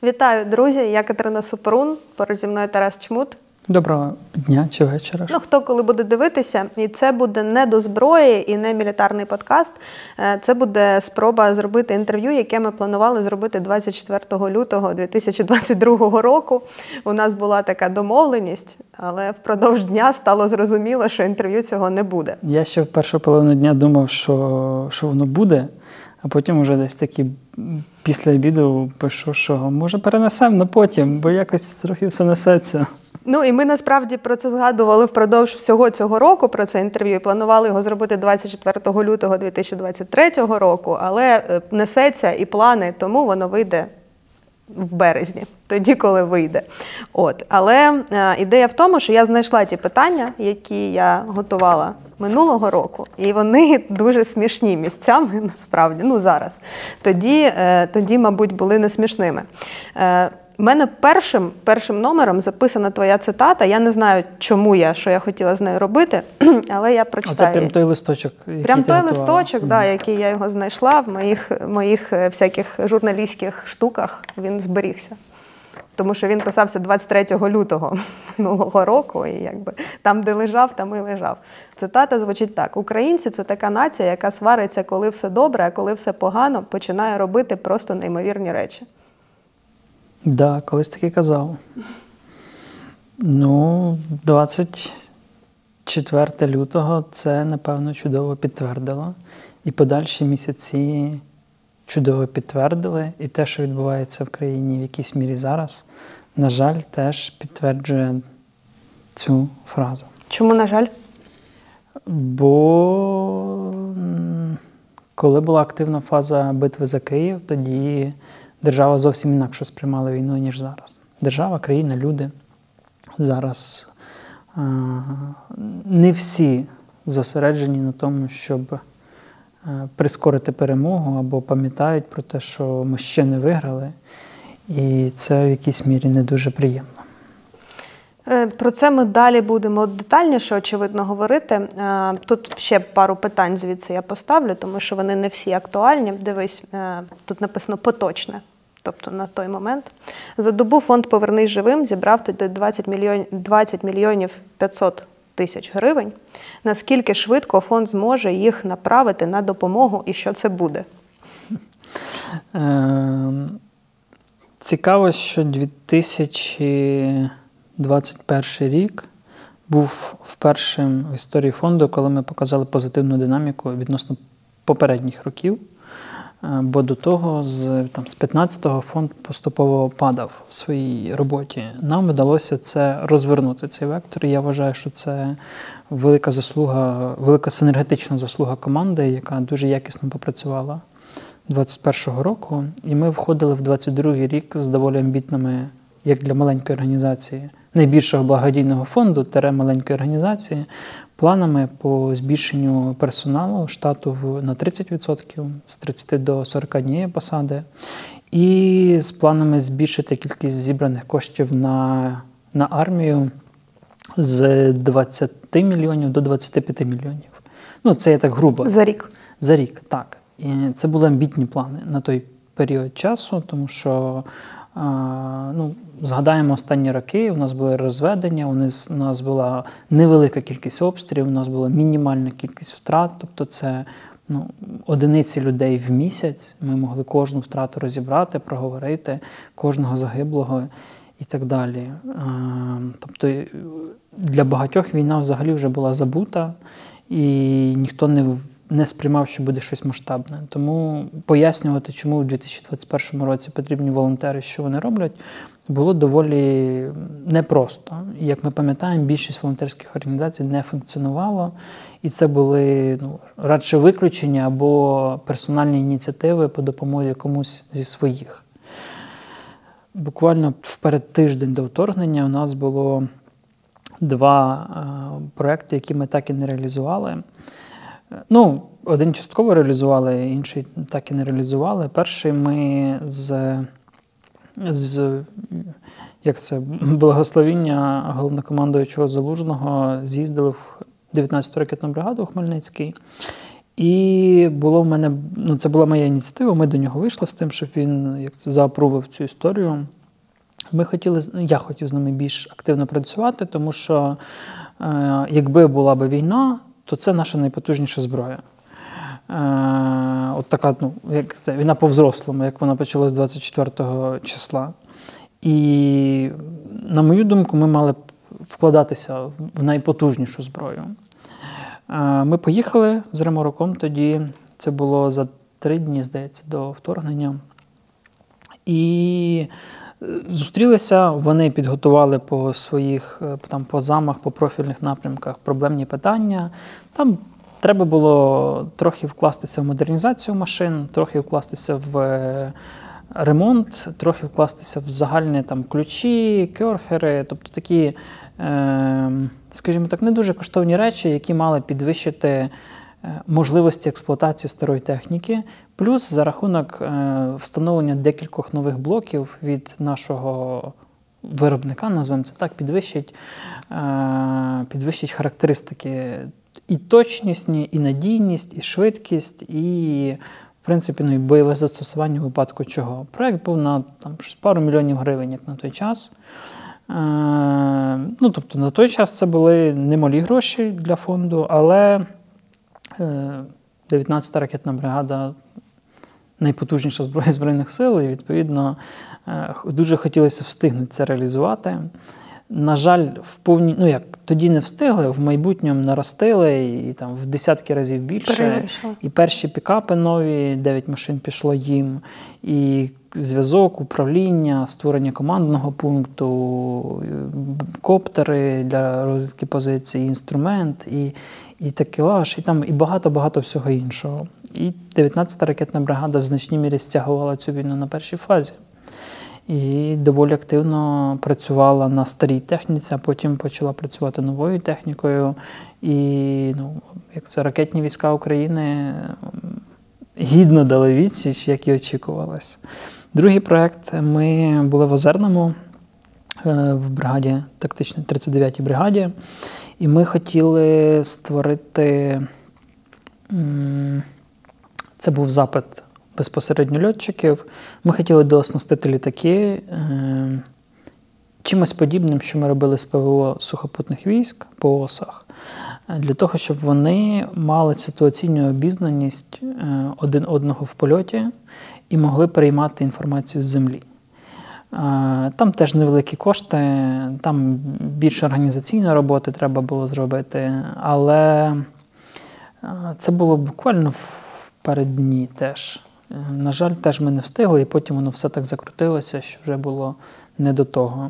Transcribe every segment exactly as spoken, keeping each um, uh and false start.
Вітаю, друзі! Я Катерина Супрун, поруч зі мною Тарас Чмут. Доброго дня чи вечора. Ну, хто коли буде дивитися. І це буде не до зброї і не мілітарний подкаст. Це буде спроба зробити інтерв'ю, яке ми планували зробити двадцять четвертого лютого дві тисячі двадцять другого року. У нас була така домовленість, але впродовж дня стало зрозуміло, що інтерв'ю цього не буде. Я ще в першу половину дня думав, що, що воно буде, а потім вже десь таки після обіду пишу, що може перенесемо на потім, бо якось трохи все несеться. Ну і ми насправді про це згадували впродовж всього цього року, про це інтерв'ю, і планували його зробити двадцять четвертого лютого дві тисячі двадцять третього року, але несеться і плани, тому воно вийде в березні, тоді, коли вийде. От. Але е, ідея в тому, що я знайшла ті питання, які я готувала минулого року, і вони дуже смішні місцями, насправді, ну зараз. Тоді, е, тоді мабуть, були не смішними. Е, У мене першим, першим номером записана твоя цитата. Я не знаю, чому я, що я хотіла з нею робити, але я прочитаю. А це прям той листочок, який Прям ти той готувала. листочок, mm-hmm. да, який я його знайшла в моїх, моїх всяких журналістських штуках, він зберігся. Тому що він писався двадцять третього лютого минулого року, і якби там, де лежав, там і лежав. Цитата звучить так. «Українці – це така нація, яка свариться, коли все добре, а коли все погано, починає робити просто неймовірні речі». Так, да, колись таки казав. Ну, двадцять четвертого лютого це, напевно, чудово підтвердило. І подальші місяці чудово підтвердили. І те, що відбувається в країні в якійсь мірі зараз, на жаль, теж підтверджує цю фразу. Чому, на жаль? Бо коли була активна фаза битви за Київ, тоді держава зовсім інакше сприймала війну, ніж зараз. Держава, країна, люди. Зараз е- не всі зосереджені на тому, щоб е- прискорити перемогу, або пам'ятають про те, що ми ще не виграли. І це в якійсь мірі не дуже приємно. Про це ми далі будемо детальніше, очевидно, говорити. Тут ще пару питань звідси я поставлю, тому що вони не всі актуальні. Дивись, тут написано «поточне». Тобто на той момент. За добу фонд «Повернись живим» зібрав тоді двадцять мільйонів п'ятсот тисяч гривень. Наскільки швидко фонд зможе їх направити на допомогу і що це буде? Цікаво, що дві тисячі двадцять перший рік був впершим в історії фонду, коли ми показали позитивну динаміку відносно попередніх років. Бо до того, з, там, з п'ятнадцятого фонд поступово падав в своїй роботі. Нам вдалося це розвернути, цей вектор. І я вважаю, що це велика заслуга, велика синергетична заслуга команди, яка дуже якісно попрацювала двадцять першого року. І ми входили в двадцять другий рік з доволі амбітними, як для маленької організації, найбільшого благодійного фонду, тере маленької організації, планами по збільшенню персоналу штату на тридцять відсотків, з тридцяти до сорока однієї посади, і з планами збільшити кількість зібраних коштів на, на армію з двадцяти мільйонів до двадцяти п'яти мільйонів. Ну, це я так грубо. За рік? За рік, так. І це були амбітні плани на той період часу, тому що Ну, згадаємо останні роки, у нас були розведення, у нас, у нас була невелика кількість обстрілів, у нас була мінімальна кількість втрат, тобто це ну, одиниці людей в місяць, ми могли кожну втрату розібрати, проговорити, кожного загиблого і так далі. Тобто для багатьох війна взагалі вже була забута, і ніхто не не сприймав, що буде щось масштабне. Тому пояснювати, чому у дві тисячі двадцять першому році потрібні волонтери, що вони роблять, було доволі непросто. І, як ми пам'ятаємо, більшість волонтерських організацій не функціонувало, і це були ну, радше виключення або персональні ініціативи по допомозі комусь зі своїх. Буквально в передтиждень до вторгнення у нас було два е, проекти, які ми так і не реалізували. Ну, один частково реалізували, інший так і не реалізували. Перший ми з, з як це, благословіння головнокомандуючого Залужного з'їздили в дев'ятнадцяту ракетну бригаду у Хмельницький. І було в мене, ну, це була моя ініціатива, ми до нього вийшли з тим, щоб він як це, заапрував цю історію. Ми хотіли, я хотів з ними більш активно працювати, тому що е, якби була б війна, то це наша найпотужніша зброя. Е, от така, ну, як це, війна по-взрослому, як вона почалась двадцять четвертого числа. І, на мою думку, ми мали б вкладатися в найпотужнішу зброю. Е, ми поїхали з Римороком тоді, це було за три дні, здається, до вторгнення. І зустрілися, вони підготували по своїх там, по замах, по профільних напрямках проблемні питання. Там треба було трохи вкластися в модернізацію машин, трохи вкластися в ремонт, трохи вкластися в загальні там, ключі, керхери, тобто такі, е, скажімо так, не дуже коштовні речі, які мали підвищити можливості експлуатації старої техніки, плюс за рахунок е, встановлення декількох нових блоків від нашого виробника, назвемо це так, підвищить, е, підвищить характеристики і точнісні, і надійність, і швидкість, і, в принципі, ну, і бойове застосування у випадку чого. Проєкт був на там, пару мільйонів гривень, як на той час. Е, ну, тобто, на той час це були немалі гроші для фонду, але дев'ятнадцята ракетна бригада – найпотужніша зброя Збройних сил, і, відповідно, дуже хотілося встигнути це реалізувати. На жаль, в повні, ну як, тоді не встигли, в майбутньому наростили, і там в десятки разів більше. Перевийшло. І перші пікапи нові, дев'ять машин пішло їм, і зв'язок, управління, створення командного пункту, коптери для розвідки позицій, інструмент, і, і такелаж, і там і багато-багато всього іншого. І дев'ятнадцята ракетна бригада в значній мірі стягувала цю війну на першій фазі. І доволі активно працювала на старій техніці, а потім почала працювати новою технікою. І, ну, як це, ракетні війська України гідно дали відсіч, як і очікувалось. Другий проєкт. Ми були в Озерному, в бригаді, тактичній тридцять дев'ятій бригаді, і ми хотіли створити, це був запит безпосередньо льотчиків. Ми хотіли дооснастити літаки е, чимось подібним, що ми робили з ПВО сухопутних військ по осах, для того, щоб вони мали ситуаційну обізнаність е, один одного в польоті і могли переймати інформацію з землі. Е, там теж невеликі кошти, там більше організаційної роботи треба було зробити, але це було буквально в переддні теж. На жаль, теж ми не встигли, і потім воно все так закрутилося, що вже було не до того.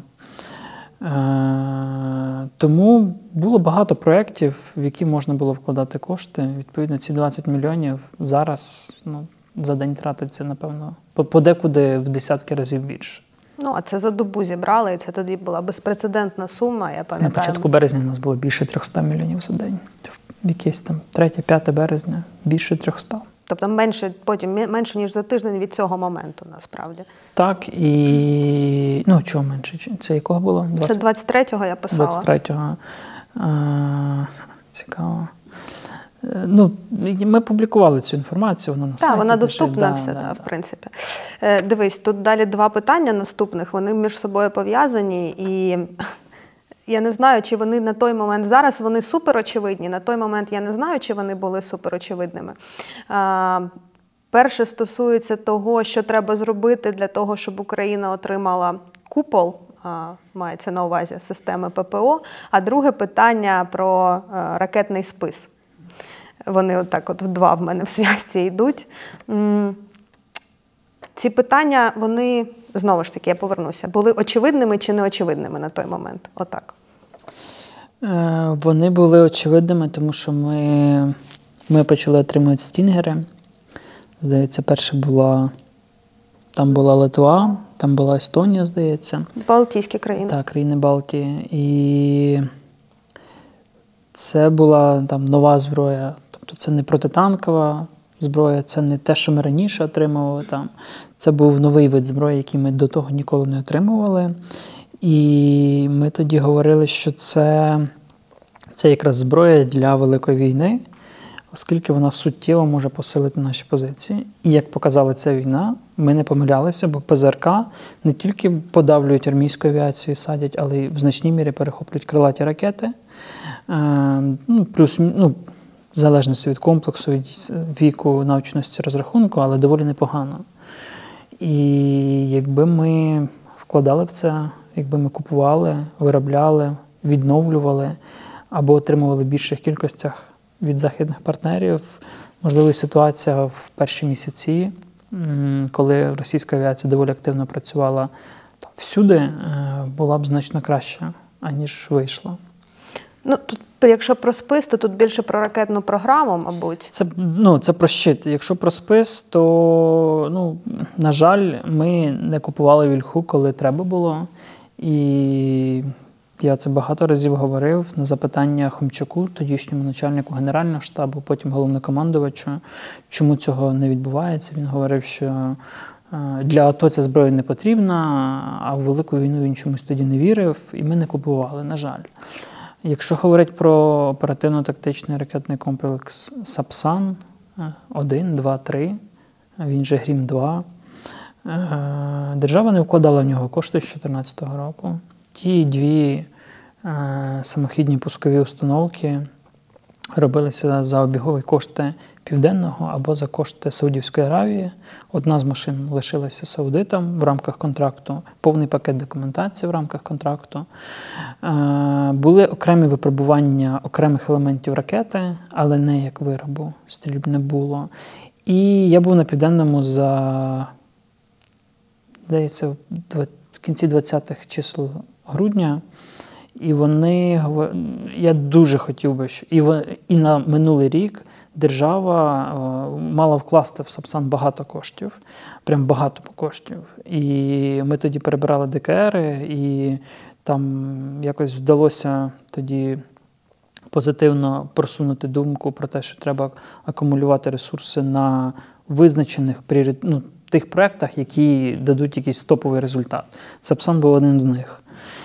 Е, тому було багато проєктів, в які можна було вкладати кошти. Відповідно, ці двадцять мільйонів зараз, ну, за день тратиться, напевно, подекуди в десятки разів більше. Ну, а це за добу зібрали, і це тоді була безпрецедентна сума, я пам'ятаю. На початку березня у нас було більше трьохсот мільйонів за день. В якесь там третє-п'яте березня більше трьохсот. Тобто менше, потім менше, ніж за тиждень від цього моменту, насправді. Так, і... Ну, чого менше? Це якого було? двадцять... Це двадцять третього я писала. двадцять третього. А, цікаво. Ну, ми публікували цю інформацію, вона на сайті. Так, вона доступна да, все, да, та, да. в принципі. Дивись, тут далі два питання наступних, вони між собою пов'язані, і я не знаю, чи вони на той момент, зараз вони суперочевидні, на той момент я не знаю, чи вони були суперочевидними. Перше стосується того, що треба зробити для того, щоб Україна отримала купол, мається на увазі системи ППО, а друге питання про ракетний спис. Вони отак от два в мене в зв'язці йдуть. Ці питання, вони, знову ж таки, я повернуся, були очевидними чи неочевидними на той момент? Отак. Вони були очевидними, тому що ми, ми почали отримувати стінгери. Здається, перша була, там була Литва, там була Естонія, здається. Балтійські країни. Так, країни Балтії. І це була там нова зброя. Тобто це не протитанкова зброя, це не те, що ми раніше отримували там. Це був новий вид зброї, який ми до того ніколи не отримували. І ми тоді говорили, що це, це якраз зброя для Великої війни. оскільки вона суттєво може посилити наші позиції. І як показала ця війна, ми не помилялися, бо ПЗРК не тільки подавлюють армійську авіацію і садять, але й в значній мірі перехоплюють крилаті ракети. Ну, плюс, ну, в залежності від комплексу, від віку, навченості, розрахунку, але доволі непогано. І якби ми вкладали в це, якби ми купували, виробляли, відновлювали або отримували в більших кількостях від західних партнерів, можливо, і ситуація в перші місяці, коли російська авіація доволі активно працювала всюди, була б значно краща, аніж вийшла. Ну, тут, якщо про спис, то тут більше про ракетну програму, мабуть. Це, ну, це про щит. Якщо про спис, то, ну, на жаль, ми не купували вільху, коли треба було. І я це багато разів говорив на запитання Хомчаку, тодішньому начальнику Генерального штабу, потім головнокомандувачу, чому цього не відбувається. Він говорив, що для АТО ця зброя не потрібна, а в Велику війну він чомусь тоді не вірив, і ми не купували, на жаль. Якщо говорити про оперативно-тактичний ракетний комплекс Сапсан один, два, три, він же Грім два, держава не вкладала в нього кошти з дві тисячі чотирнадцятого року. Ті дві самохідні пускові установки робилися за обігові кошти Південного або за кошти Саудівської Аравії. Одна з машин лишилася саудитам в рамках контракту, повний пакет документації в рамках контракту. Були окремі випробування окремих елементів ракети, але не як виробу, стрільб не було. І я був на Південному за, здається, в кінці двадцятих чисел грудня. І вони, я дуже хотів би, що і, і на минулий рік держава мала вкласти в Сапсан багато коштів, прям багато коштів. І ми тоді перебирали ДКРи, і там якось вдалося тоді позитивно просунути думку про те, що треба акумулювати ресурси на визначених ну, тих проєктах, які дадуть якийсь топовий результат. Сапсан був одним з них.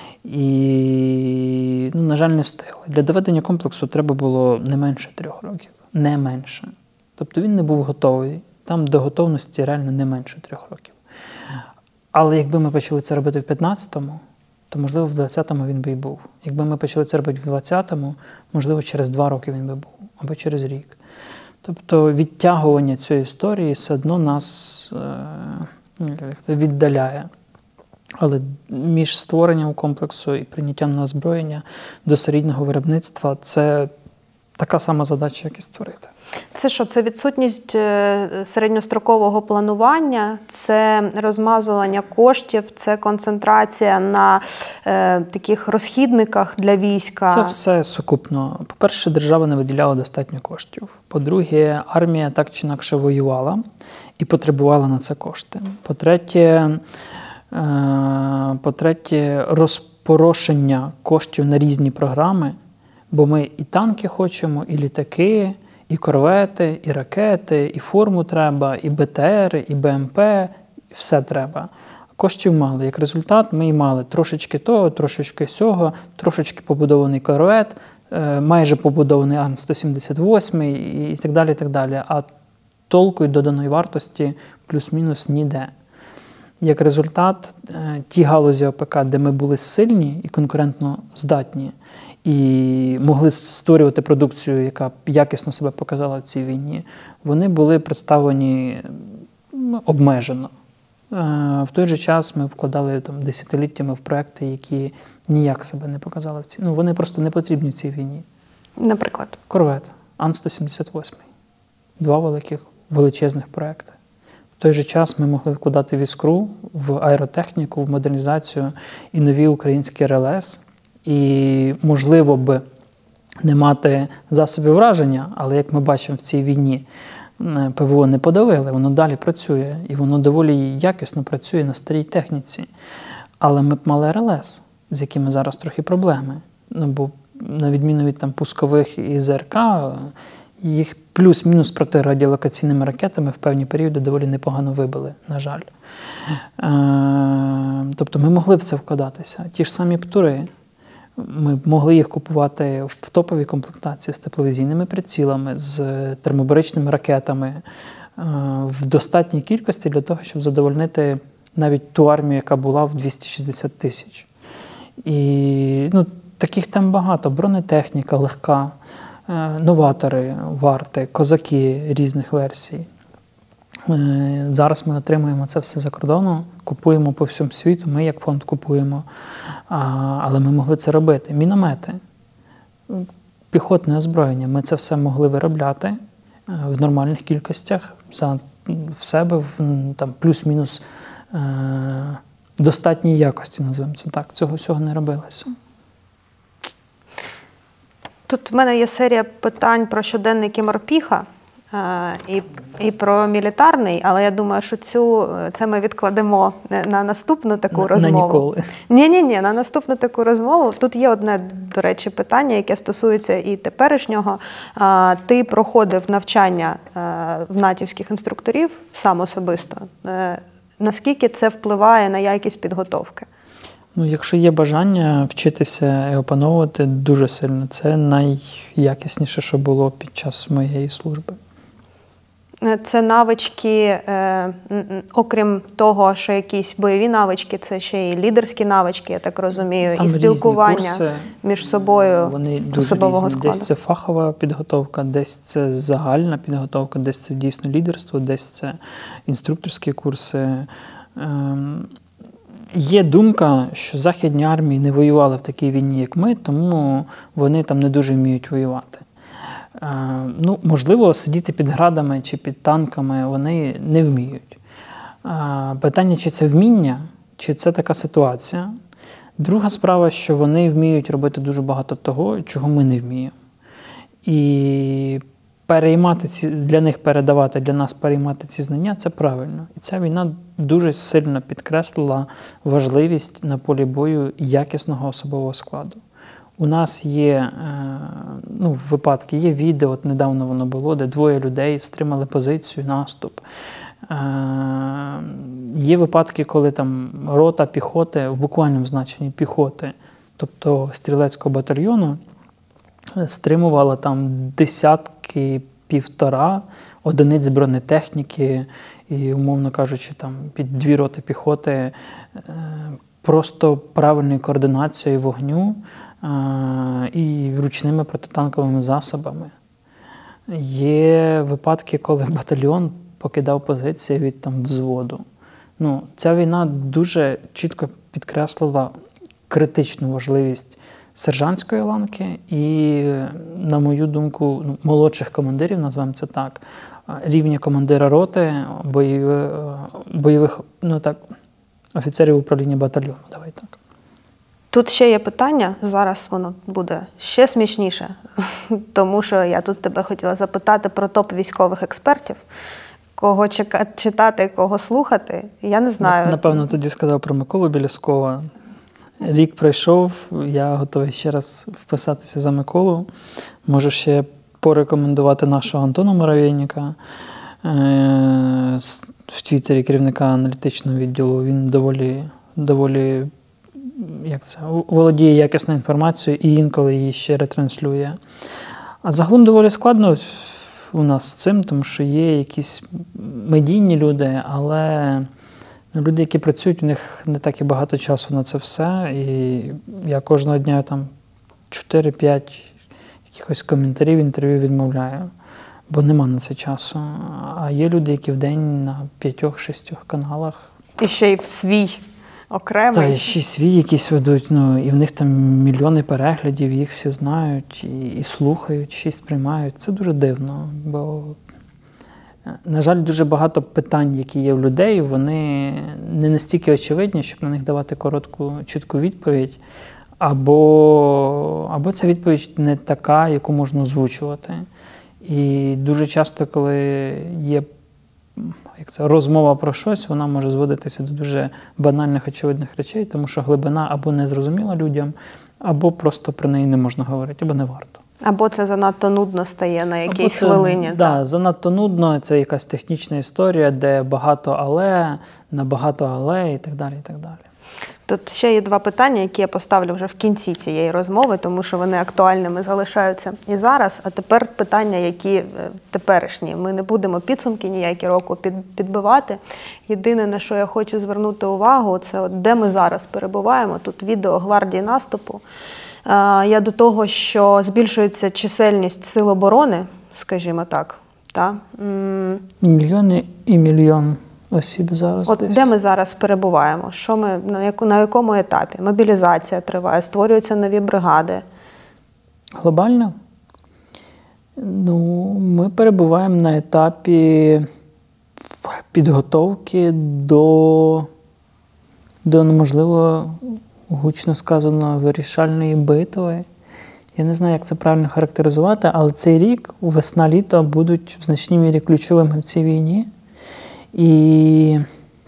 І, ну, на жаль, не встигли. Для доведення комплексу треба було не менше трьох років. Не менше. Тобто він не був готовий. Там до готовності реально не менше трьох років. Але якби ми почали це робити в п'ятнадцятому, то, можливо, в двадцятому він би і був. Якби ми почали це робити в двадцятому, можливо, через два роки він би був. Або через рік. Тобто відтягування цієї історії все одно нас е- віддаляє. Але між створенням комплексу і прийняттям на озброєння до серійного виробництва – це така сама задача, як і створити. Це що? Це відсутність середньострокового планування, це розмазування коштів, це концентрація на е, таких розхідниках для війська? Це все сукупно. По-перше, держава не виділяла достатньо коштів. По-друге, армія так чи інакше воювала і потребувала на це кошти. По-третє, По-третє, розпорошення коштів на різні програми, бо ми і танки хочемо, і літаки, і корвети, і ракети, і форму треба, і БТР, і БМП, і все треба. Коштів мало. Як результат, ми і мали трошечки того, трошечки сього, трошечки побудований корвет, майже побудований Ан сто сімдесят вісім і так далі, і так далі. А толку і доданої вартості плюс-мінус ніде. Як результат, ті галузі ОПК, де ми були сильні і конкурентно здатні, і могли створювати продукцію, яка якісно себе показала в цій війні, вони були представлені обмежено. В той же час ми вкладали там, десятиліттями в проекти, які ніяк себе не показали в цій. Ну, вони просто не потрібні в цій війні. Наприклад? Корвет, Ан сто сімдесят вісім. Два великих, величезних проекти. В той же час ми могли вкладати в іскру, в аеротехніку, в модернізацію і нові українські РЛС. І, можливо, б не мати засобів враження, але, як ми бачимо в цій війні, ПВО не подавили, воно далі працює. І воно доволі якісно працює на старій техніці. Але ми б мали РЛС, з якими зараз трохи проблеми. Ну, бо, на відміну від там, пускових і ЗРК, їх плюс-мінус протирадіолокаційними ракетами в певні періоди доволі непогано вибили, на жаль. Е, тобто ми могли в це вкладатися. Ті ж самі птури. Ми могли їх купувати в топовій комплектації з тепловізійними прицілами, з термобаричними ракетами в достатній кількості для того, щоб задовольнити навіть ту армію, яка була в двісті шістдесят тисяч. І ну, таких тем багато. Бронетехніка легка, новатори, варти, козаки різних версій. Зараз ми отримуємо це все за кордону, купуємо по всьому світу, ми як фонд купуємо, але ми могли це робити. Міномети, піхотне озброєння, ми це все могли виробляти в нормальних кількостях, за, в себе, в там, плюс-мінус е, достатній якості, називаємо це так. Цього всього не робилося. Тут в мене є серія питань про щоденники Морпіха е, і, і про мілітарний, але я думаю, що цю, це ми відкладемо на наступну таку на, розмову. На ніколи. Ні-ні-ні, на наступну таку розмову. Тут є одне, до речі, питання, яке стосується і теперішнього. Е, ти проходив навчання е, в натівських інструкторів сам особисто. Е, наскільки це впливає на якість підготовки? Ну, якщо є бажання вчитися і опановувати дуже сильно, це найякісніше, що було під час моєї служби. Це навички, е, окрім того, що якісь бойові навички, це ще й лідерські навички, я так розумію, Там і спілкування курси, між собою вони дуже особового різні. складу. Десь це фахова підготовка, десь це загальна підготовка, десь це дійсно лідерство, десь це інструкторські курси. Ем, Є думка, що західні армії не воювали в такій війні, як ми, тому вони там не дуже вміють воювати. Е, ну, можливо, сидіти під градами чи під танками вони не вміють. Е, питання, чи це вміння, чи це така ситуація. Друга справа, що вони вміють робити дуже багато того, чого ми не вміємо. І переймати ці, для них передавати, для нас переймати ці знання – це правильно. І ця війна дуже сильно підкреслила важливість на полі бою якісного особового складу. У нас є ну, випадки, є відео, от недавно воно було, де двоє людей стримали позицію, наступ. Є випадки, коли там рота піхоти, в буквальному значенні піхоти, тобто стрілецького батальйону, стримувала там десятки, півтора одиниць бронетехніки і, умовно кажучи, там під дві роти піхоти просто правильною координацією вогню і ручними протитанковими засобами. Є випадки, коли батальйон покидав позиції від там взводу. Ну, ця війна дуже чітко підкреслила критичну важливість сержантської ланки і, на мою думку, ну, молодших командирів, назвемо це так, рівня командира роти, бойових, бойових ну, так, офіцерів управління батальйону. Давай так. Тут ще є питання, зараз воно буде ще смішніше, тому що я тут тебе хотіла запитати про топ військових експертів. Кого читати, кого слухати, я не знаю. Напевно, тоді сказав про Миколу Біляскова. Рік пройшов, я готовий ще раз вписатися за Миколу. Можу ще порекомендувати нашого Антона Муравейника в Твіттері, керівника аналітичного відділу. Він доволі, доволі як це, володіє якісною інформацією і інколи її ще ретранслює. А загалом доволі складно у нас з цим, тому що є якісь медійні люди, але люди, які працюють, у них не так і багато часу на це все. І я кожного дня там чотири-п'ять якихось коментарів, інтерв'ю відмовляю, бо нема на це часу. А є люди, які в день на п'ятьох-шістьох каналах. І ще й в свій окремий. Так, і ще й свій якісь ведуть, ну, і в них там мільйони переглядів, їх всі знають, і, і слухають, ще й сприймають. Це дуже дивно, бо, на жаль, дуже багато питань, які є в людей, вони не настільки очевидні, щоб на них давати коротку, чітку відповідь, або, або ця відповідь не така, яку можна озвучувати. І дуже часто, коли є як це, розмова про щось, вона може зводитися до дуже банальних, очевидних речей, тому що глибина або не зрозуміла людям, або просто про неї не можна говорити, або не варто. Або це занадто нудно стає на якійсь це, хвилині. Так, да, занадто нудно, це якась технічна історія, де багато але, на багато але і так далі, і так далі. Тут ще є два питання, які я поставлю вже в кінці цієї розмови, тому що вони актуальними залишаються і зараз. А тепер питання, які е, теперішні. Ми не будемо підсумки ніякі року під, підбивати. Єдине, на що я хочу звернути увагу, це от де ми зараз перебуваємо. Тут відео гвардії наступу. Е, я до того, що збільшується чисельність сил оборони, скажімо так. Та? М, Мільйони і мільйон осіб зараз От десь. де ми зараз перебуваємо? Що ми, на, яку, на якому етапі? Мобілізація триває, створюються нові бригади. Глобально? Ну, ми перебуваємо на етапі підготовки до, до можливо, гучно сказано, вирішальної битви. Я не знаю, як це правильно характеризувати, але цей рік, весна-літо, будуть в значній мірі ключовими в цій війні. І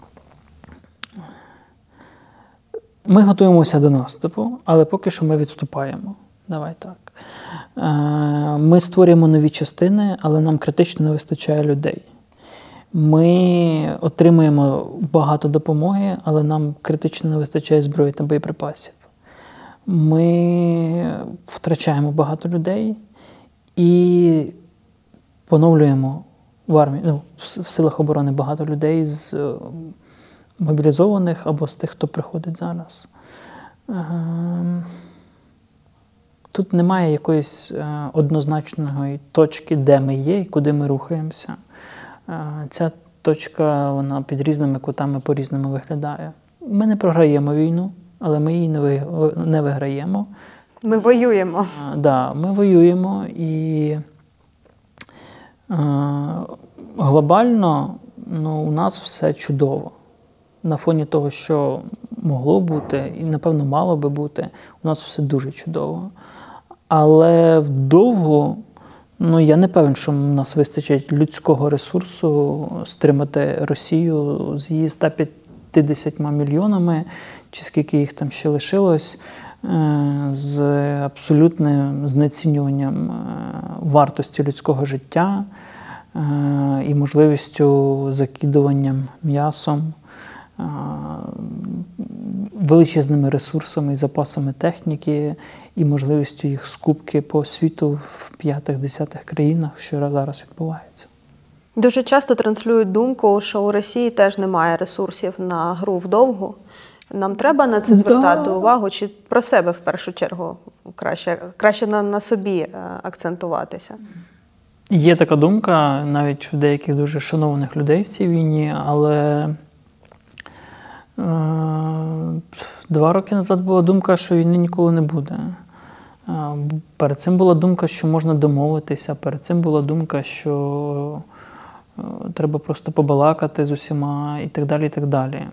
ми готуємося до наступу, але поки що ми відступаємо. Давай так. Ми створюємо нові частини, але нам критично не вистачає людей. Ми отримуємо багато допомоги, але нам критично не вистачає зброї та боєприпасів. Ми втрачаємо багато людей і поновлюємо в армії, ну, в силах оборони багато людей з мобілізованих або з тих, хто приходить зараз. Тут немає якоїсь однозначної точки, де ми є і куди ми рухаємося. Ця точка, вона під різними кутами по-різному виглядає. Ми не програємо війну, але ми її не виграємо. Ми воюємо. Так, да, ми воюємо і е, глобально ну, у нас все чудово. На фоні того, що могло бути, і, напевно, мало би бути, у нас все дуже чудово. Але вдовго, ну, я не певен, що в нас вистачить людського ресурсу стримати Росію з її ста п'ятдесятьма мільйонами, чи скільки їх там ще лишилось, з абсолютним знецінюванням вартості людського життя і можливістю закидуванням м'ясом, величезними ресурсами і запасами техніки, і можливістю їх скупки по світу в п'ятих-десятих країнах, що зараз відбувається. Дуже часто транслюють думку, що у Росії теж немає ресурсів на гру вдовгу. Нам треба на це звертати да. увагу, чи про себе в першу чергу краще, краще на, на собі акцентуватися? Є така думка навіть в деяких дуже шанованих людей в цій війні, але е, два роки назад була думка, що війни ніколи не буде. Е, перед цим була думка, що можна домовитися, перед цим була думка, що е, треба просто побалакати з усіма і так далі, і так далі.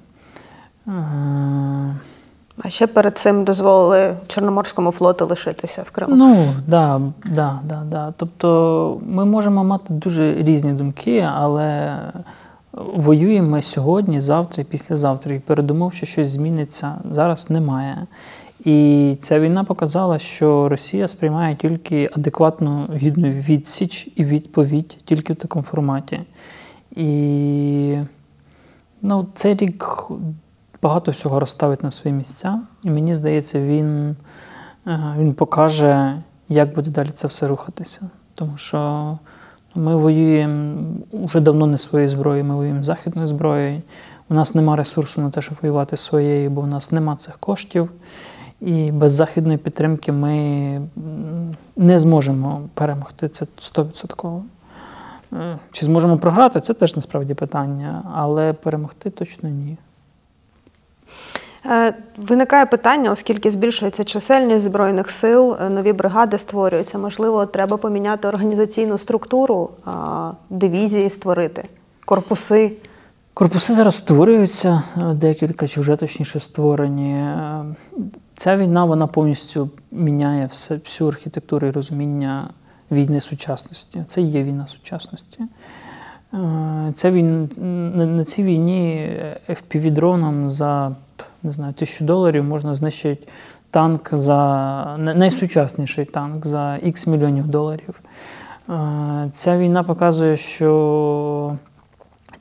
А ще перед цим дозволили Чорноморському флоту лишитися в Криму. Ну, так, да, да, да, да. Тобто ми можемо мати дуже різні думки, але воюємо ми сьогодні, завтра і післязавтра. І передумов, що щось зміниться, зараз немає. І ця війна показала, що Росія сприймає тільки адекватну, гідну відсіч і відповідь тільки в такому форматі. І ну, цей рік багато всього розставить на свої місця, і мені здається, він, він покаже, як буде далі це все рухатися. Тому що ми воюємо вже давно не своєю зброєю, ми воюємо західною зброєю. У нас нема ресурсу на те, щоб воювати своєю, бо у нас нема цих коштів. І без західної підтримки ми не зможемо перемогти це сто відсотків. Чи зможемо програти, це теж насправді питання, але перемогти точно ні. Виникає питання, оскільки збільшується чисельність Збройних сил, нові бригади створюються. Можливо, треба поміняти організаційну структуру, дивізії створити, корпуси. Корпуси зараз створюються, декілька, чи вже точніше створені. Ця війна, вона повністю міняє все, всю архітектуру і розуміння війни сучасності. Це і є війна сучасності. Ця війна, на цій війні еф пі ві-дроном за, не знаю, тисячу доларів можна знищити танк за, найсучасніший танк за ікс мільйонів доларів. Ця війна показує, що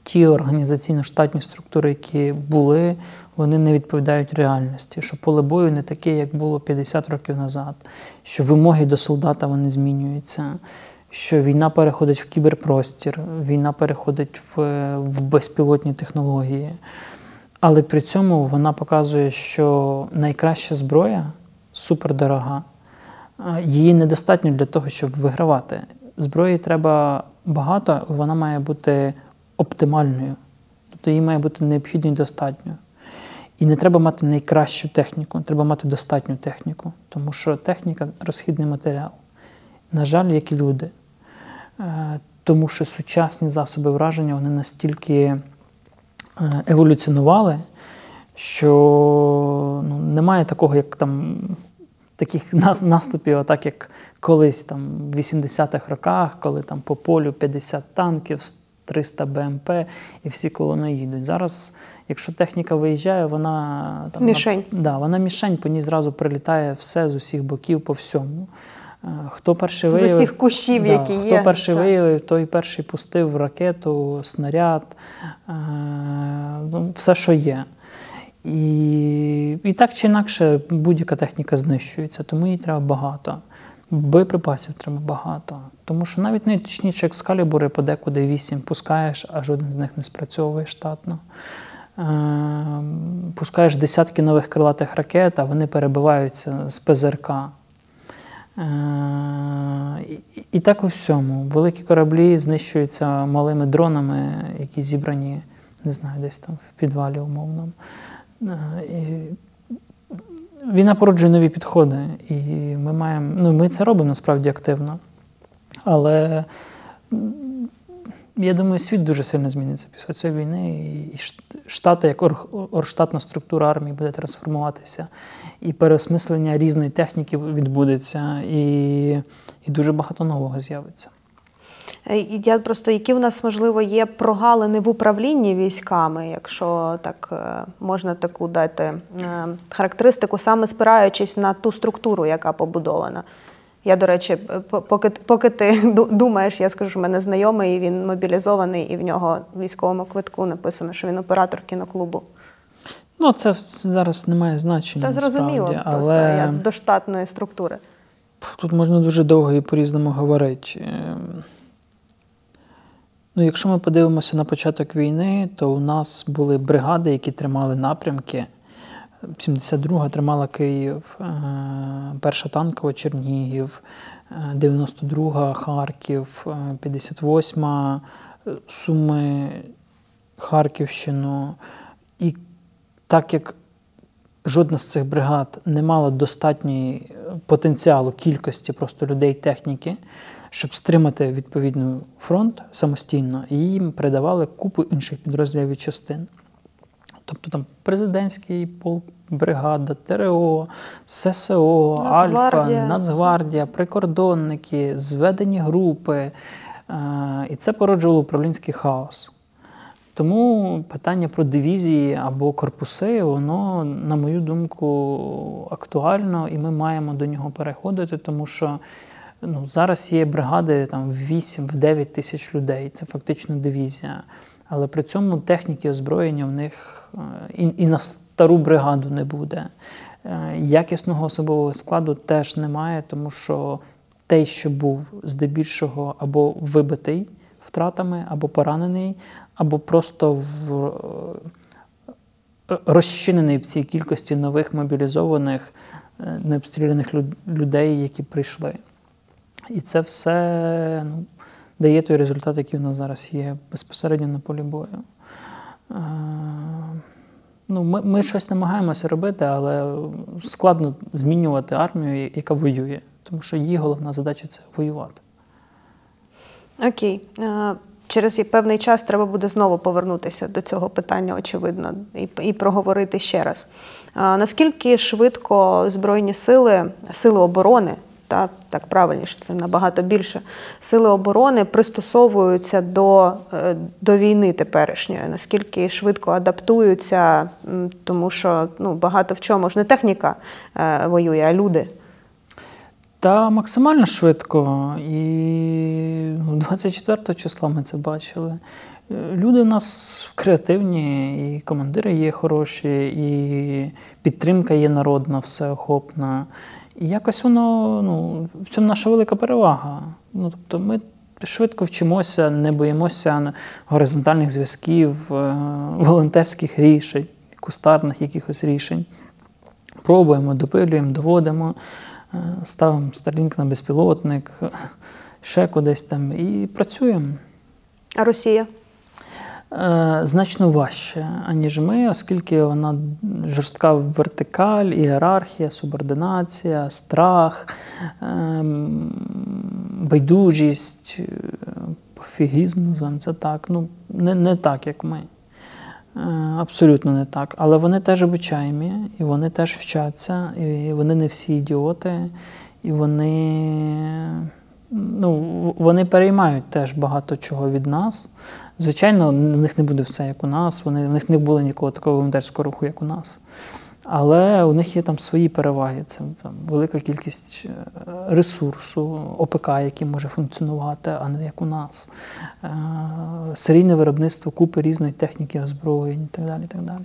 ті організаційно-штатні структури, які були, вони не відповідають реальності, що поле бою не таке, як було п'ятдесят років назад, що вимоги до солдата вони змінюються, що війна переходить в кіберпростір, війна переходить в, в безпілотні технології. Але при цьому вона показує, що найкраща зброя супердорога. Її недостатньо для того, щоб вигравати. Зброї треба багато, вона має бути оптимальною. Тобто її має бути необхідно і достатньо. І не треба мати найкращу техніку, треба мати достатню техніку. Тому що техніка – розхідний матеріал. На жаль, як і люди. Тому що сучасні засоби враження, вони настільки еволюціонували, що ну, немає такого, як там, таких наступів, так як колись там, в вісімдесятих роках, коли там по полю п'ятдесят танків, триста Б М П і всі колони їдуть. Зараз, якщо техніка виїжджає, вона... Там, мішень. Вона, да, вона мішень, по ній зразу прилітає все з усіх боків, по всьому. Хто перший виявив, з усіх кущів, да, які хто є. перший так. виявив, той перший пустив ракету, снаряд, е, ну, все, що є. І, і так чи інакше будь-яка техніка знищується, тому їй треба багато. Боєприпасів треба багато. Тому що навіть найточніші екскалібури подекуди вісім пускаєш, а жоден з них не спрацьовує штатно. Е, пускаєш десятки нових крилатих ракет, а вони перебиваються з П З Р К. І, і так у всьому. Великі кораблі знищуються малими дронами, які зібрані, не знаю, десь там в підвалі умовно. І війна породжує нові підходи, і ми маємо, ну, ми це робимо насправді активно. Але я думаю, світ дуже сильно зміниться після цієї війни, і Штати, як оргштатна структура армії, буде трансформуватися, і переосмислення різної техніки відбудеться, і, і дуже багато нового з'явиться. Я просто, які в нас, можливо, є прогалини в управлінні військами, якщо так можна таку дати характеристику, саме спираючись на ту структуру, яка побудована. Я, до речі, поки, поки ти думаєш, я скажу, що в мене знайомий, він мобілізований, і в нього в військовому квитку написано, що він оператор кіноклубу. Ну, це зараз не має значення, Та зрозуміло, насправді, просто але я до штатної структури. Тут можна дуже довго і по-різному говорити. Ну, якщо ми подивимося на початок війни, то у нас були бригади, які тримали напрямки. сімдесят друга тримала Київ, перша танкова Чернігів, дев'яносто друга Харків, п'ятдесят восьма Суми, Харківщину. І так як жодна з цих бригад не мала достатньої потенціалу, кількості просто людей, техніки, щоб стримати відповідний фронт самостійно, і їм передавали купу інших підрозділів і частин. Тобто там президентський полк, бригада, Т Р О, С С О, Альфа, Нацгвардія, прикордонники, зведені групи. І це породжувало управлінський хаос. Тому питання про дивізії або корпуси, воно, на мою думку, актуально, і ми маємо до нього переходити, тому що ну, зараз є бригади там, в вісім-дев'ять тисяч людей, це фактично дивізія. Але при цьому техніки озброєння в них і, і на стару бригаду не буде. Якісного особового складу теж немає, тому що той, що був здебільшого або вибитий втратами, або поранений, або просто в, розчинений в цій кількості нових мобілізованих, необстріляних людей, які прийшли. І це все ну, дає той результат, який у нас зараз є безпосередньо на полі бою. Ну, ми, ми щось намагаємося робити, але складно змінювати армію, яка воює. Тому що її головна задача – це воювати. Окей. Через певний час треба буде знову повернутися до цього питання, очевидно, і, і проговорити ще раз. Наскільки швидко Збройні сили, сили оборони, та, так правильніше, це набагато більше, сили оборони пристосовуються до, до війни теперішньої, наскільки швидко адаптуються, тому що ну, багато в чому ж не техніка е, воює, а люди. Та максимально швидко. І двадцять четвертого числа ми це бачили. Люди у нас креативні, і командири є хороші, і підтримка є народна, всеохопна. І якось воно, ну, в цьому наша велика перевага. Ну, тобто ми швидко вчимося, не боїмося горизонтальних зв'язків, волонтерських рішень, кустарних якихось рішень. Пробуємо, допилюємо, доводимо, ставимо Starlink на безпілотник, ще кудись там і працюємо. А Росія? Значно важче, аніж ми, оскільки вона жорстка вертикаль, ієрархія, субординація, страх, байдужість, пофігізм, називаємо це так. Ну, не, не так, як ми. Абсолютно не так. Але вони теж обучаємі, і вони теж вчаться, і вони не всі ідіоти, і вони, ну, вони переймають теж багато чого від нас. Звичайно, у них не буде все, як у нас, вони, у них не було нікого такого волонтерського руху, як у нас. Але у них є там свої переваги. Це там, велика кількість ресурсу, ОПК, який може функціонувати, а не як у нас. Е, серійне виробництво купи різної техніки, озброєнь і так далі. І так далі.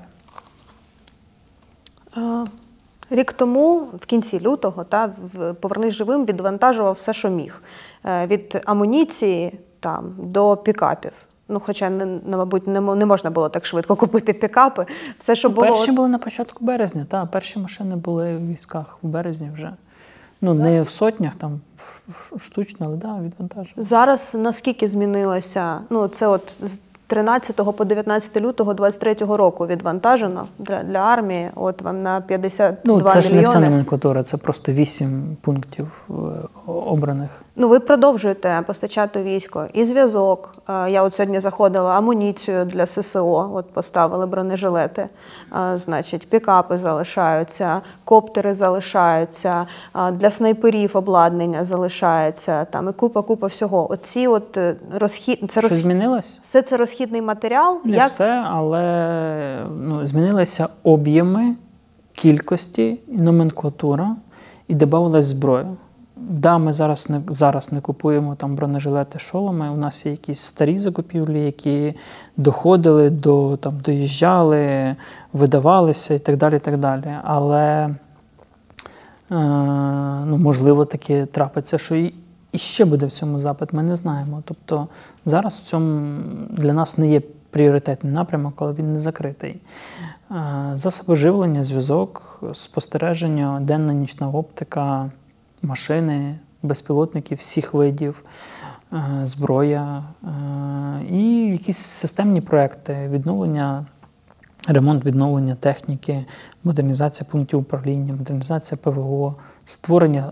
Рік тому, в кінці лютого, та, «Повернись живим» відвантажував все, що міг. Від амуніції там, до пікапів. Ну, хоча, не, мабуть, не, не можна було так швидко купити пікапи. Все, що ну, було... Перші були на початку березня, та, перші машини були в військах в березні вже. Ну, не в сотнях, там, штучно, але да, відвантажували. Зараз наскільки змінилося? Ну, це от з тринадцятого по дев'ятнадцяте лютого двадцять третього року відвантажено для, для армії, от вам на п'ятдесят два мільйони. Ну, це ж не вся номенклатура, це просто вісім пунктів обраних. Ну, ви продовжуєте постачати військо і зв'язок. Я от сьогодні заходила, амуніцію для ССО, от поставили бронежилети, значить, пікапи залишаються, коптери залишаються, для снайперів обладнання залишається, там і купа-купа всього. Оці от розхід... Це Що роз... змінилось? Все це розхідний матеріал? Не Як... все, але ну, змінилися об'єми, кількості, номенклатура і додавалась зброя. Да, ми зараз не, зараз не купуємо там бронежилети, шоломи. У нас є якісь старі закупівлі, які доходили, до, там, доїжджали, видавалися і так далі. І так далі. Але, е, ну, можливо, таке трапиться, що і, і ще буде в цьому запит, ми не знаємо. Тобто зараз в цьому для нас не є пріоритетний напрямок, але він не закритий. Е, засоби живлення, зв'язок, спостереження, денна нічна оптика, машини, безпілотники всіх видів, зброя і якісь системні проекти, відновлення, ремонт, відновлення техніки, модернізація пунктів управління, модернізація ПВО, створення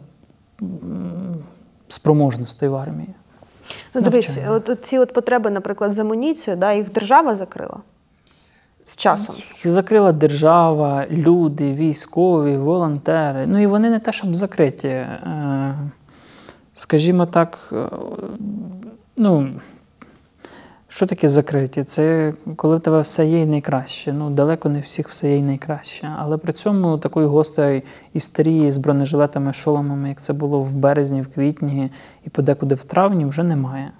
спроможностей в армії. Ну, дивись, от ці от потреби, наприклад, з амуніцією, да, їх держава закрила? З часом. Їх закрила держава, люди, військові, волонтери. Ну і вони не те, щоб закриті. Скажімо так, ну, що таке закриті? Це коли в тебе все є і найкраще. Ну, далеко не всіх все є і найкраще. Але при цьому такої гострої істерії з бронежилетами, шоломами, як це було в березні, в квітні і подекуди в травні, вже немає.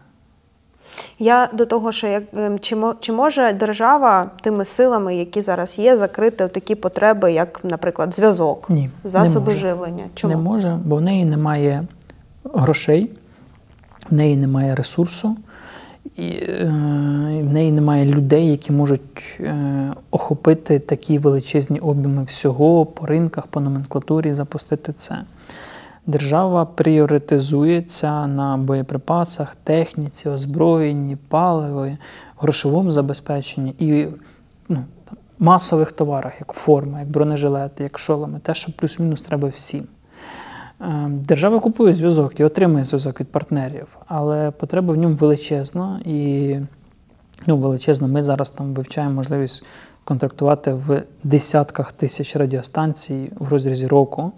Я до того, що як, чи, чи може держава тими силами, які зараз є, закрити такі потреби, як, наприклад, зв'язок, Ні, засоби живлення? Чому? Не може, бо в неї немає грошей, в неї немає ресурсу, і е, в неї немає людей, які можуть е, охопити такі величезні об'єми всього по ринках, по номенклатурі, запустити це. Держава пріоритизується на боєприпасах, техніці, озброєнні, паливі, грошовому забезпеченні і ну, там, масових товарах, як форма, як бронежилети, як шоломи, те, що плюс-мінус треба всім. Держава купує зв'язок і отримує зв'язок від партнерів, але потреба в ньому величезна. І ну, величезна. Ми зараз там вивчаємо можливість контрактувати в десятках тисяч радіостанцій в розрізі року.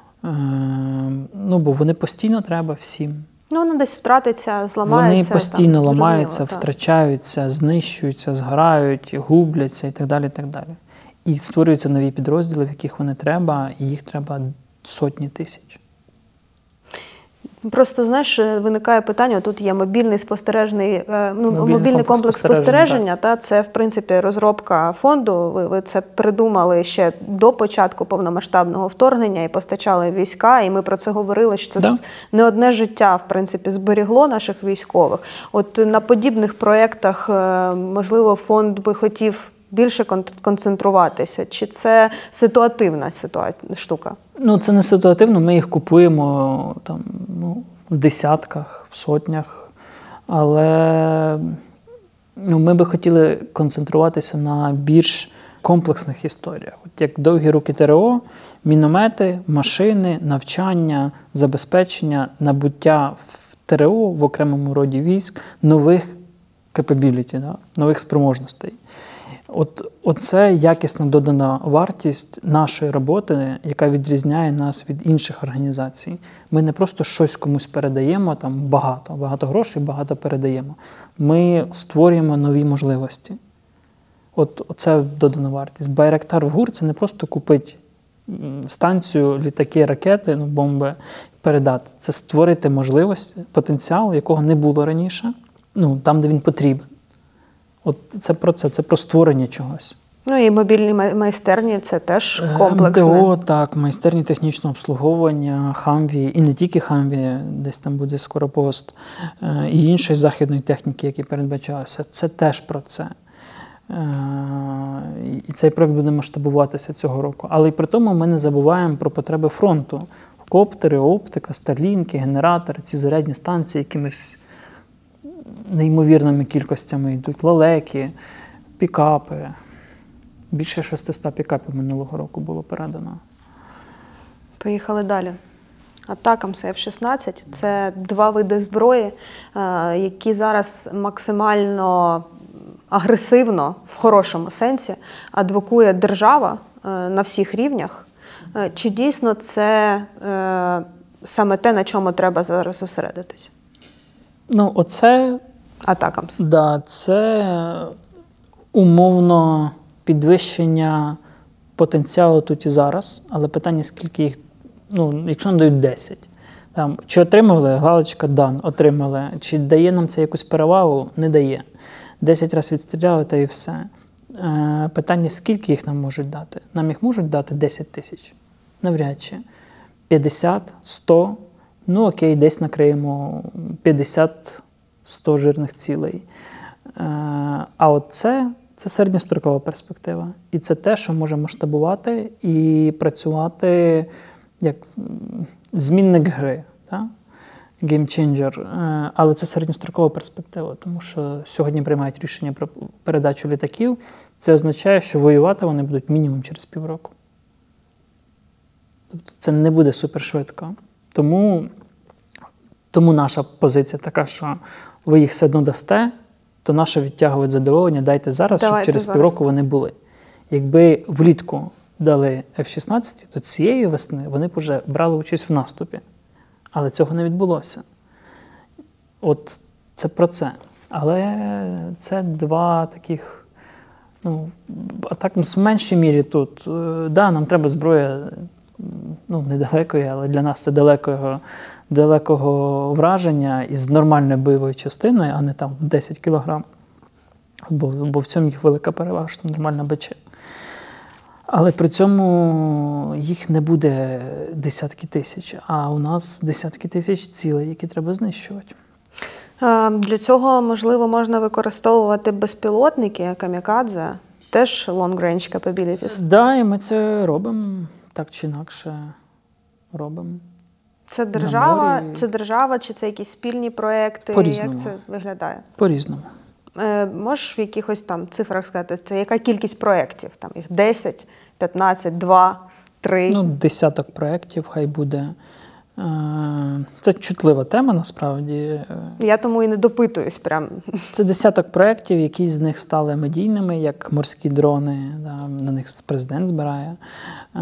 Ну, бо вони постійно треба всім. Ну, воно десь втратиться, зламається. Вони постійно там, ламаються, так. втрачаються, знищуються, згорають, губляться і так далі, і так далі. І створюються нові підрозділи, в яких вони треба, і їх треба сотні тисяч. Просто, знаєш, виникає питання, тут є мобільний спостережний, е, ну, Мобільний мобільний комплекс комплекс спостереження, спостереження, та, це, в принципі, розробка фонду. Ви, ви це придумали ще до початку повномасштабного вторгнення і постачали війська, і ми про це говорили, що це Да. с- не одне життя, в принципі, зберігло наших військових. От на подібних проєктах, е, можливо, фонд би хотів більше кон- концентруватися, чи це ситуативна ситуація, штука? Ну, це не ситуативно, ми їх купуємо там, ну, в десятках, в сотнях, але ну, ми би хотіли концентруватися на більш комплексних історіях. От як довгі руки ТРО, міномети, машини, навчання, забезпечення, набуття в ТРО, в окремому роді військ, нових capability, да, нових спроможностей. От, оце якісна додана вартість нашої роботи, яка відрізняє нас від інших організацій. Ми не просто щось комусь передаємо, там багато, багато грошей, багато передаємо. Ми створюємо нові можливості. От це додана вартість. Байрактар в ГУР – це не просто купити станцію, літаки, ракети, ну, бомби, передати. Це створити можливість, потенціал, якого не було раніше, ну, там, де він потрібен. От це про це, це про створення чогось. Ну і мобільні май- майстерні – це теж комплексне. МТО, так, майстерні технічного обслуговування, Хамві, і не тільки Хамві, десь там буде скоро пост, е, і іншої західної техніки, які передбачалися. Це теж про це. Е, І цей проект буде масштабуватися цього року. Але й при тому ми не забуваємо про потреби фронту. Коптери, оптика, старлінки, генератори, ці зарядні станції якимись неймовірними кількостями йдуть. Лелеки, пікапи. Більше шестисот пікапів минулого року було передано. Поїхали далі. Атакамс еф шістнадцять – це два види зброї, е, які зараз максимально агресивно, в хорошому сенсі, адвокує держава е, на всіх рівнях. Е, Чи дійсно це е, саме те, на чому треба зараз зосередитись? Ну, оце, Атакамс. да, це умовно підвищення потенціалу тут і зараз, але питання, скільки їх, ну, якщо нам дають десять. Там, чи отримали, галочка дан, отримали. Чи дає нам це якусь перевагу? Не дає. десять разів відстріляли, та і все. Е, питання, скільки їх нам можуть дати? Нам їх можуть дати десять тисяч? Навряд чи. п'ятдесят, сто, ну окей, десь накриємо п'ятдесят-сто жирних цілей. Е, а от це, це середньострокова перспектива. І це те, що може масштабувати і працювати як змінник гри. Так? Геймченджер. Е, Але це середньострокова перспектива, тому що сьогодні приймають рішення про передачу літаків. Це означає, що воювати вони будуть мінімум через півроку. Тобто це не буде супершвидко. Тому, тому наша позиція така, що ви їх все одно дасте, то наше відтягувати задоволення дайте зараз, Давайте щоб через зараз. півроку вони були. Якби влітку дали еф шістнадцять, то цієї весни вони б вже брали участь в наступі. Але цього не відбулося. От це про це. Але це два таких, ну, а так в меншій мірі тут. Так, да, нам треба зброя, ну, недалекої, але для нас це далекого, далекого враження із нормальною бойовою частиною, а не там десять кілограм. Бо, бо в цьому їх велика перевага, що там нормальна БЧ. Але при цьому їх не буде десятки тисяч, а у нас десятки тисяч цілей, які треба знищувати. Е, Для цього, можливо, можна використовувати безпілотники, камікадзе, теж long-range capabilities. Так, да, і ми це робимо, так чи інакше робимо. Це держава, морі. це держава чи це якісь спільні проекти? По-різному. Як це виглядає? По-різному. Е, можеш в якихось там цифрах сказати, це яка кількість проєктів? Там їх десять, п'ятнадцять, два, три? Ну, десяток проєктів хай буде. Е, Це чутлива тема, насправді. Я тому і не допитуюсь прям. Це десяток проєктів, які з них стали медійними, як морські дрони, да, на них президент збирає. Е,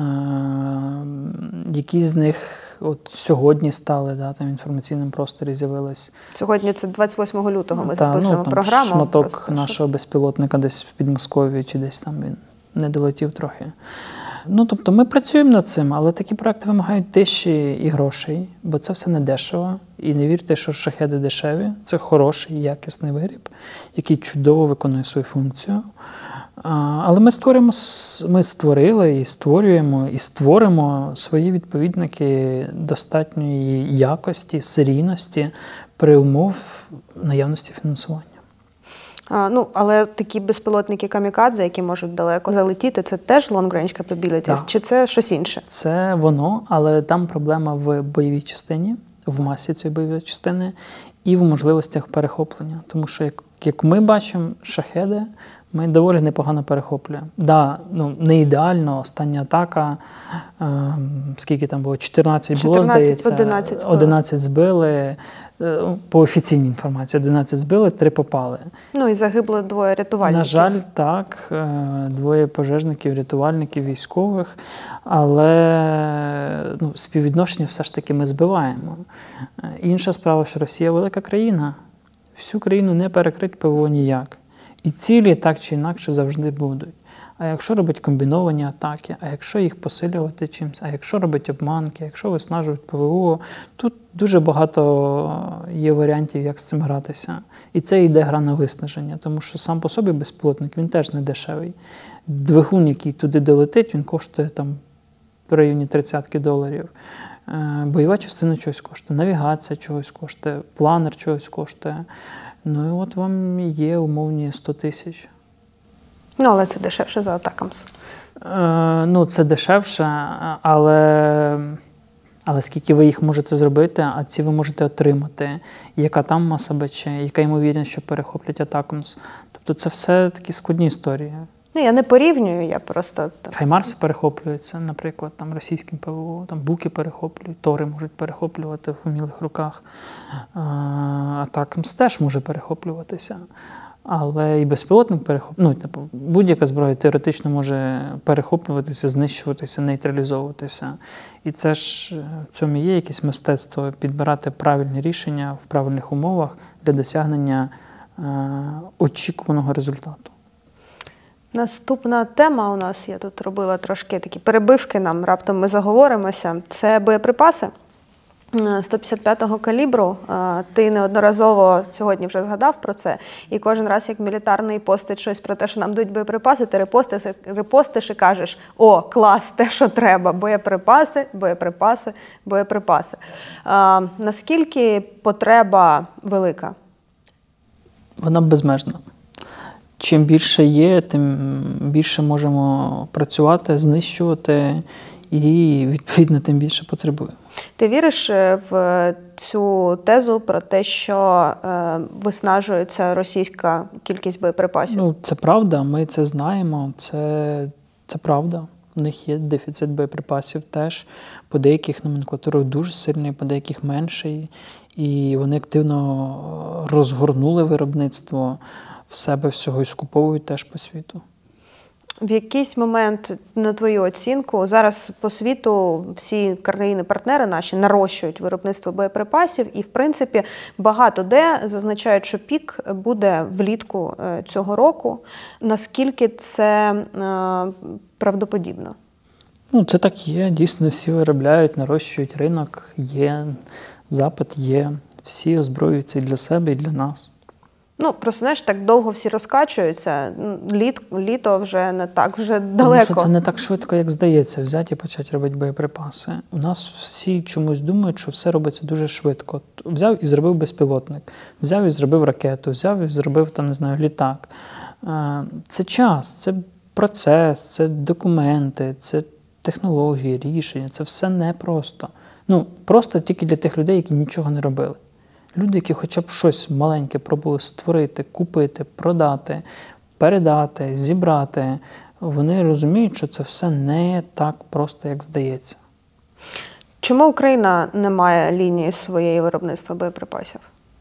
які з них от сьогодні стали, да, там в інформаційному просторі з'явились. Сьогодні це двадцять восьмого лютого ми Та, записуємо ну, там програму. шматок просто, нашого безпілотника десь в Підмосков'ї, чи десь там він не долетів трохи. Ну, тобто ми працюємо над цим, але такі проекти вимагають тиші і грошей, бо це все не дешево. І не вірте, що шахеди дешеві. Це хороший, якісний виріб, який чудово виконує свою функцію. Але ми створюємо, ми створили і створюємо, і створимо свої відповідники достатньої якості, серійності при умов наявності фінансування. А, ну, але такі безпілотники камікадзе, які можуть далеко залетіти, це теж long-range capabilities? Так. Чи це щось інше? Це воно, але там проблема в бойовій частині, в масі цієї бойової частини і в можливостях перехоплення. Тому що, як, як ми бачимо, шахеди ми доволі непогано перехоплюємо. Да, ну, не ідеально, остання атака, е, скільки там було, чотирнадцять було, чотирнадцять, здається, одинадцять збили. одинадцять збили, е, по офіційній інформації, одинадцять збили, три попали. Ну і загибло двоє рятувальників. На жаль, так, е, двоє пожежників, рятувальників, військових, але ну, співвідношення все ж таки ми збиваємо. Е, Інша справа, що Росія велика країна, всю країну не перекрить ПВО ніяк. І цілі так чи інакше завжди будуть. А якщо робить комбіновані атаки, а якщо їх посилювати чимось, а якщо робить обманки, якщо виснажують ПВО, тут дуже багато є варіантів, як з цим гратися. І це йде гра на виснаження, тому що сам по собі безпілотник, він теж не дешевий. Двигун, який туди долетить, він коштує там в районі тридцять доларів. Бойова частина чогось коштує, навігація чогось коштує, планер чогось коштує. Ну і от вам є умовні сто тисяч. Ну, але це дешевше за атакамс. Е, ну, це дешевше, але, але скільки ви їх можете зробити, а ці ви можете отримати. Яка там маса БЧ, яка ймовірність, що перехоплять атакамс. Тобто це все такі складні історії. Ну, я не порівнюю, я просто... Хаймарси перехоплюються, наприклад, там російським ПВО, там буки перехоплюють, тори можуть перехоплювати в умілих руках. Атакамс теж може перехоплюватися. Але і безпілотник перехоплює, ну, типу, будь-яка зброя теоретично може перехоплюватися, знищуватися, нейтралізовуватися. І це ж в цьому є якесь мистецтво підбирати правильні рішення в правильних умовах для досягнення е, очікуваного результату. Наступна тема у нас, я тут робила трошки такі перебивки, нам раптом ми заговоримося, це боєприпаси сто п'ятдесят п'ятого калібру. Ти неодноразово сьогодні вже згадав про це, і кожен раз, як мілітарний постить щось про те, що нам дають боєприпаси, ти репостиш, репостиш і кажеш: о, клас, те, що треба, боєприпаси, боєприпаси, боєприпаси. А, наскільки потреба велика? Вона безмежна. Чим більше є, тим більше можемо працювати, знищувати і, відповідно, тим більше потребуємо. Ти віриш в цю тезу про те, що е, виснажується російська кількість боєприпасів? Ну, це правда, ми це знаємо, це, це правда. У них є дефіцит боєприпасів теж. По деяких номенклатурах дуже сильний, по деяких менший. І вони активно розгорнули виробництво в себе всього і скуповують теж по світу. В якийсь момент, на твою оцінку, зараз по світу всі країни-партнери наші нарощують виробництво боєприпасів і, в принципі, багато де зазначають, що пік буде влітку цього року. Наскільки це е, правдоподібно? Ну, це так є. Дійсно, всі виробляють, нарощують ринок, є запит, є. Всі озброюються і для себе, і для нас. Ну, просто, знаєш, так довго всі розкачуються, Літ, літо вже не так, вже далеко. Тому що це не так швидко, як здається, взяти і почати робити боєприпаси. У нас всі чомусь думають, що все робиться дуже швидко. Взяв і зробив безпілотник, взяв і зробив ракету, взяв і зробив, там, не знаю, літак. Це час, це процес, це документи, це технології, рішення, це все непросто. Ну, просто тільки для тих людей, які нічого не робили. Люди, які хоча б щось маленьке пробували створити, купити, продати, передати, зібрати, вони розуміють, що це все не так просто, як здається. Чому Україна не має лінії своєї виробництва боєприпасів?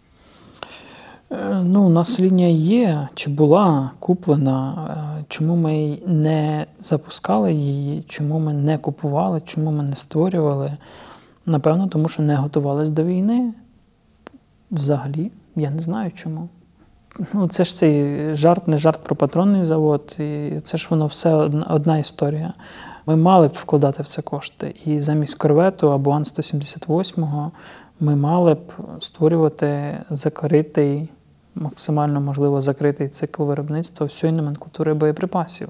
Ну, у нас лінія є, чи була куплена. Чому ми не запускали її, чому ми не купували, чому ми не створювали? Напевно, тому що не готувалися до війни. Взагалі, я не знаю чому. Ну, це ж цей жарт, не жарт про патронний завод, і це ж воно все одна, одна історія. Ми мали б вкладати в це кошти. І замість корвету або Ан сто сімдесят вісім ми мали б створювати закритий, максимально можливо закритий цикл виробництва всієї номенклатури боєприпасів.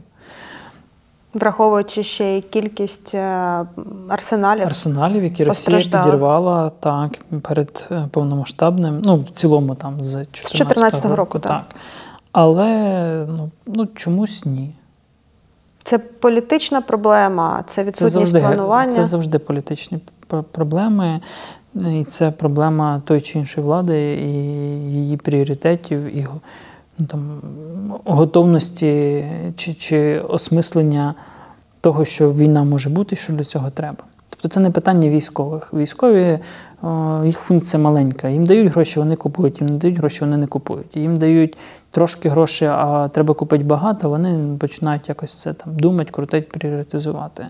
Враховуючи ще й кількість арсеналів. Арсеналів, які Росія підірвала так, перед повномасштабним, ну, в цілому там з чотирнадцятого року. Так. так. Але ну, ну, чомусь ні. Це політична проблема, це відсутність це завжди, планування? Це завжди політичні проблеми. І це проблема тої чи іншої влади і її пріоритетів, і ну, там, готовності чи, чи осмислення того, що війна може бути і що для цього треба. Тобто це не питання військових. Військові, о, їх функція маленька. Їм дають гроші, вони купують, їм не дають гроші, вони не купують. Їм дають трошки грошей, а треба купити багато, вони починають якось це там думати, крутити, пріоритизувати.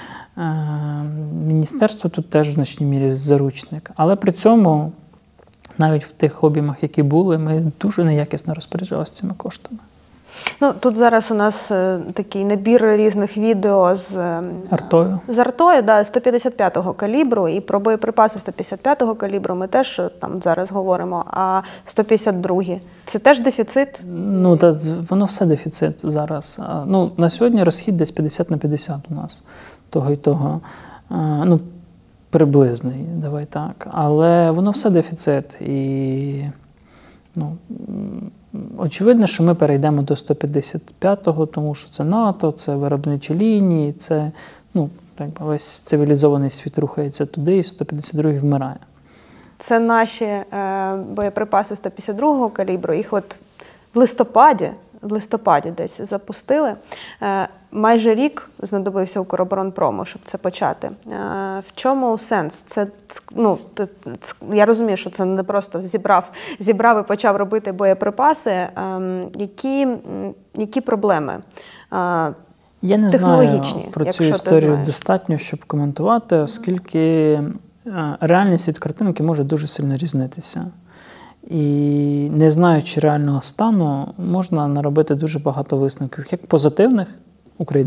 Міністерство тут теж в значній мірі заручник. Але при цьому, навіть в тих об'ємах, які були, ми дуже неякісно розпоряджалися цими коштами. Ну, тут зараз у нас е, такий набір різних відео з е, артою, з артою, да, сто п'ятдесят п'ятого калібру, і про боєприпаси сто п'ятдесят п'ятого калібру ми теж там зараз говоримо, а сто п'ятдесят другий – це теж дефіцит? Ну, та, воно все дефіцит зараз. Ну, на сьогодні розхід десь п'ятдесят на п'ятдесят у нас, того і того. Ну, приблизний, давай так. Але воно все дефіцит. І, ну, очевидно, що ми перейдемо до сто п'ятдесят п'ятого, тому що це НАТО, це виробничі лінії, це, ну, весь цивілізований світ рухається туди, і сто п'ятдесят другий вмирає. Це наші е, боєприпаси сто п'ятдесят другого калібру, їх от в листопаді, в листопаді десь запустили. Е, майже рік знадобився Укроборонпрому, щоб це почати. Е, в чому сенс? Це, ну, це, я розумію, що це не просто зібрав, зібрав і почав робити боєприпаси. Е, які, які проблеми? Е, Я не знаю про цю історію достатньо, щоб коментувати, оскільки реальність від картинки може дуже сильно різнитися. І не знаючи реального стану, можна наробити дуже багато висновків, як позитивних, Україна